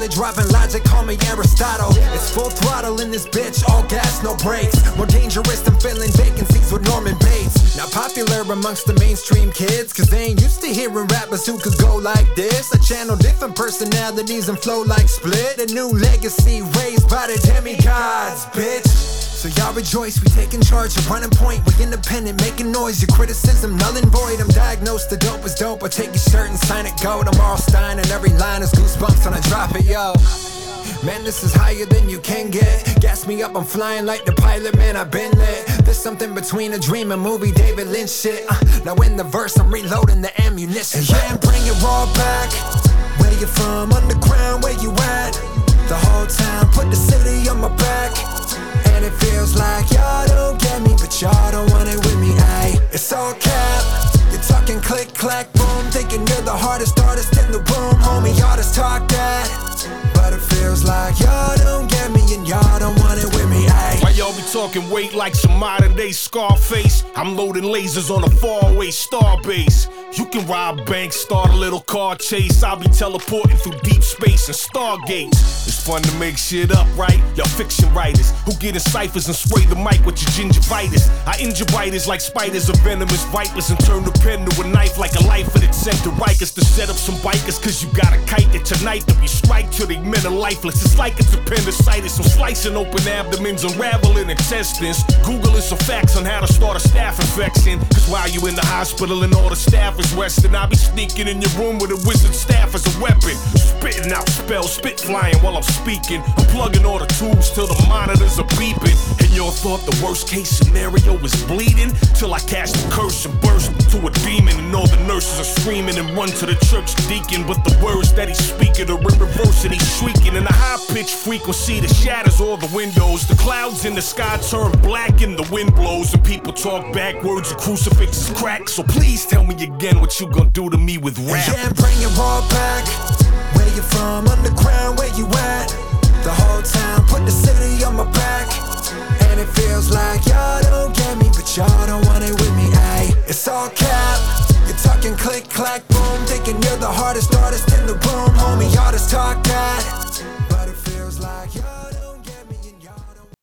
Barely dropping logic, call me Aristotle. It's full throttle in this bitch, all gas, no brakes. More dangerous than filling vacancies with Norman Bates. Now popular amongst the mainstream kids, cause they ain't used to hearing rappers who could go like this. I channel different personalities and flow like Split. A new legacy raised by the demigods, bitch. So y'all rejoice, we taking charge, you're running point. We independent, making noise, your criticism null and void. I'm diagnosed, the dope is dope, I take your shirt and sign it gold. I'm Arl Stein and every line is goosebumps when I drop it, yo. Man, this is higher than you can get. Gas me up, I'm flying like the pilot, man, I've been there. There's something between a dream and movie, David Lynch shit. uh, Now in the verse, I'm reloading the ammunition. And yeah, bring it raw back. Where you from, underground, where you at? The whole time, put the city on my back. And it feels like y'all don't get me, but y'all don't want it with me, ayy. It's all cap, you're talking click, clack, boom. Thinking you're the hardest artist in the room, homie, y'all just talk that. But it feels like y'all don't get me and y'all don't want it with me, ayy. Why y'all be talking weight like some modern day Scarface? I'm loading lasers on a faraway star base. You can rob banks, start a little car chase. I'll be teleporting through deep space and stargates. It's fun to make shit up, right? Y'all fiction writers who get in ciphers and spray the mic with your gingivitis. I injure writers like spiders or venomous vipers and turn the pen to a knife like a lifer that sent to Rikers to set up some bikers. Cause you got a kite that tonight that we strike till they men are lifeless. It's like it's appendicitis. I'm slicing open abdomens, unraveling intestines. Googling some facts on how to start a staph infection. Cause while you in the hospital and all the staff is Western, I'll be sneaking in your room with a wizard staff as a weapon. Spitting out spells, spit flying while I'm speaking. I'm plugging all the tubes till the monitors are beeping. And y'all thought the worst case scenario was bleeding? Till I cast a curse and burst into a demon. And all the nurses are screaming and run to the church deacon. But the words that he's speaking are in reverse and he's shrieking. In a high-pitched frequency that shatters all the windows. The clouds in the sky turn black and the wind blows. And people talk backwards and crucifixes crack. So please tell me again what you gonna do to me with rap. Yeah, bring it raw back. Where you from, underground, where you at? The whole time, put the city on my back. And it feels like y'all don't get me, but y'all don't want it with me, ayy. It's all cap, you're talking click, clack, boom. Thinking you're the hardest artist in the room, homie, y'all just talk that. But it feels like y'all don't get me and y'all don't.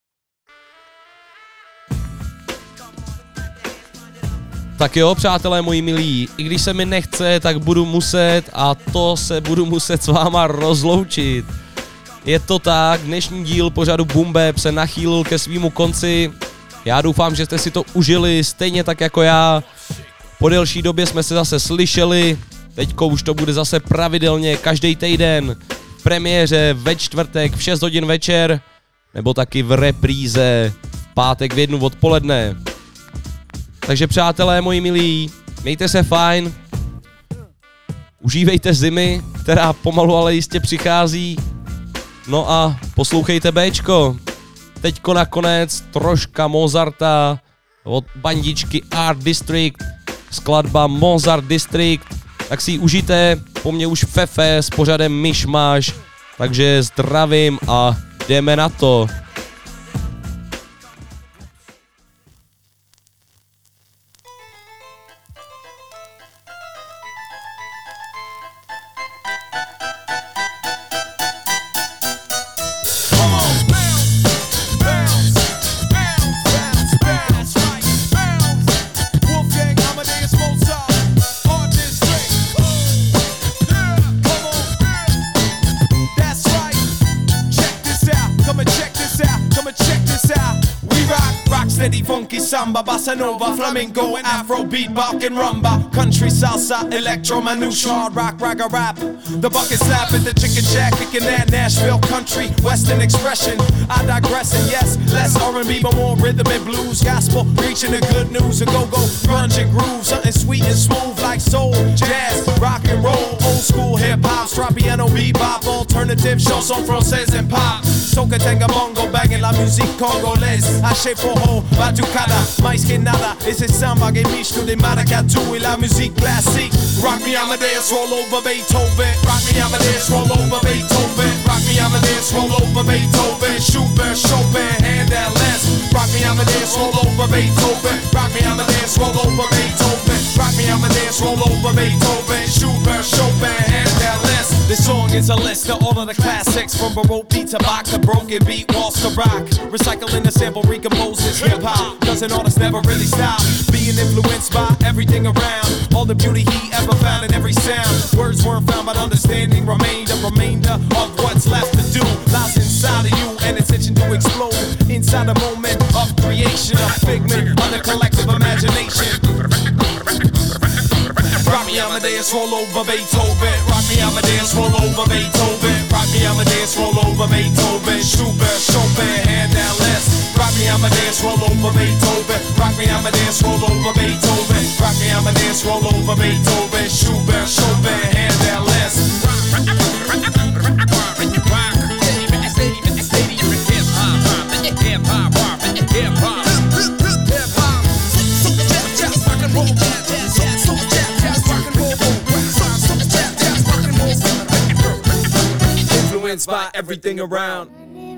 Tak jo, přátelé moji milí, i když se mi nechce, tak budu muset a to se budu muset s váma rozloučit. Je to tak, dnešní díl pořadu Boom Bap se nachýlil ke svýmu konci. Já doufám, že jste si to užili stejně tak jako já. Po delší době jsme se zase slyšeli, teďko už to bude zase pravidelně každý týden v premiéře ve čtvrtek v šest hodin večer, nebo taky v repríze v pátek v jednu odpoledne. Takže přátelé moji milí, mějte se fajn, užívejte zimy, která pomalu ale jistě přichází. No a poslouchejte Bčko. Teďko nakonec troška Mozarta od bandičky Art District, skladba Mozart District, tak si ji užijte, po mně už Fefe s pořadem Myšmaš, takže zdravím a jdeme na to. Samba, bossa nova, flamenco, and afro, beat, bop, and rumba. Country, salsa, electro, manouche, hard rock, ragga rap. The bucket slap at the chicken jack, kicking that Nashville country, western expression. I digress, and yes, less R and B, but more rhythm and blues. Gospel, preaching the good news, a go-go, grunge and groove. Something sweet and smooth like soul, jazz, rock and roll. Old school hip-hop, strap piano, bebop, alternative, chanson française and pop. Soca, tenga, bongo, banging la musique congolaise. Haché, poho, batucada. Mais que nada, esse samba que misto de maracatu e la musique classique. Rock me Amadeus, roll over Beethoven. Rock me Amadeus, roll over Beethoven. Rock me Amadeus, roll over Beethoven. Schubert, Chopin, Handel, Les. Rock me Amadeus, roll over Beethoven. Rock me Amadeus, roll over Beethoven. Rock me Amadeus, roll over Beethoven. Schubert, Chopin, Handel, Les. This song is Here's a list of all of the classics, from Baroque beat to Bach to broken beat, waltz to rock. Recycling the sample, recomposes hip hop. Cause an artist never really stop being influenced by everything around. All the beauty he ever found in every sound. Words weren't found, but understanding remained. A remainder of what's left to do lies inside of you, and it's itching to explode inside the moment of creation. A figment of the collective imagination. Rock me Amadeus, roll over Beethoven. Rock me Amadeus, roll over Beethoven. Rock me Amadeus, roll over Beethoven. Schubert, Chopin, hand that list. Rock me Amadeus, roll over Beethoven. Rock me Amadeus, roll over Beethoven. Rock me Amadeus, roll over Beethoven. Schubert, Chopin, hand that list. Influenced by everything around.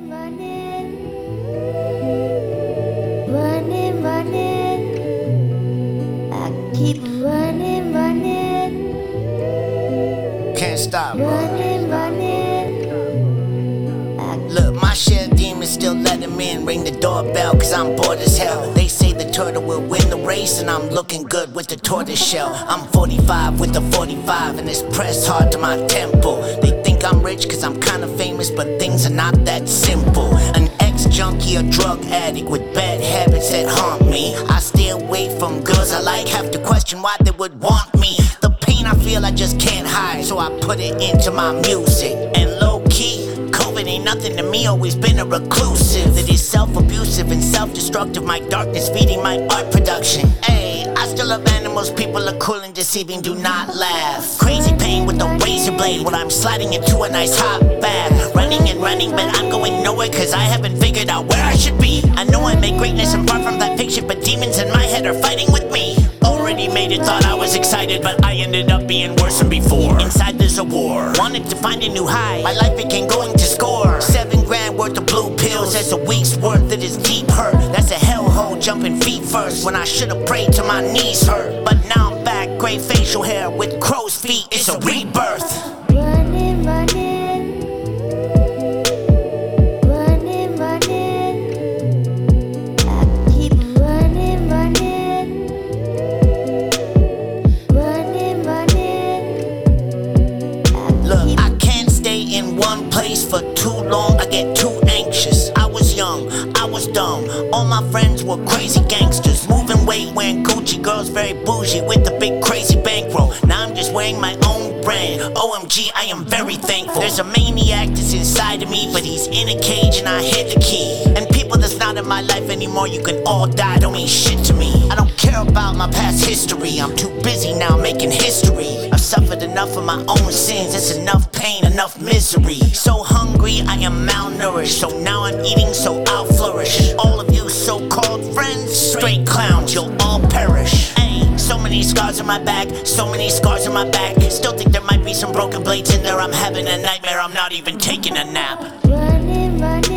Running, running, I keep running, running. Can't stop. Running, running. Look, my share demons still let him in. Ring the doorbell, cause I'm bored as hell. They say the turtle will win the race, and I'm looking good with the tortoise shell. I'm forty-five with the forty-five, and it's pressed hard to my temple. They think I'm rich cause I'm kinda famous, but things are not that simple. An ex-junkie or drug addict with bad habits that haunt me. I stay away from girls I like, have to question why they would want me. The pain I feel I just can't hide, so I put it into my music. And low-key, COVID ain't nothing to me, always been a reclusive. That is self-abusive and self-destructive, my darkness feeding my art production. Ayy, I still love animals, people are cool and deceiving, do not laugh. Crazy pain with a razor blade when I'm sliding into a nice hot bath. Running and running, but I'm going nowhere cause I haven't figured out where I should be. I know I make greatness and far from that picture, but demons in my head are fighting with me. Already made it, thought I was excited, but I ended up being worse than before. Inside there's a war, wanted to find a new high. My life became going to score. Seven grand worth of blue pills, that's a week's worth of this deep hurt. That's a hellhole jumping feet first, when I should've prayed till my knees hurt. But now I'm back, gray facial hair with crow's feet, it's a rebirth. Running, running. Running, running. I keep running, running. Running, running. Look, I can't stay in one place for too long, I get too anxious. I was young, I was dumb, all my friends were crazy gangsters. Moving weight, wearing Gucci, girls very bougie with the big crazy bankroll. Now I'm just wearing my own brand, O M G, I am very thankful. There's a maniac that's inside of me, but he's in a cage and I hit the key. And people that's not in my life anymore, you can all die, don't mean shit to me. I don't care about my past history, I'm too busy now making history. I've suffered enough of my own sins, it's enough pain, enough misery. So hungry, I am malnourished, so now I'm eating so I'll flourish. And all of you so-called friends, straight clowns, you'll all perish. Ayy, so many scars on my back, so many scars on my back. Still think there might be some broken blades in there, I'm having a nightmare, I'm not even taking a nap. Running, running.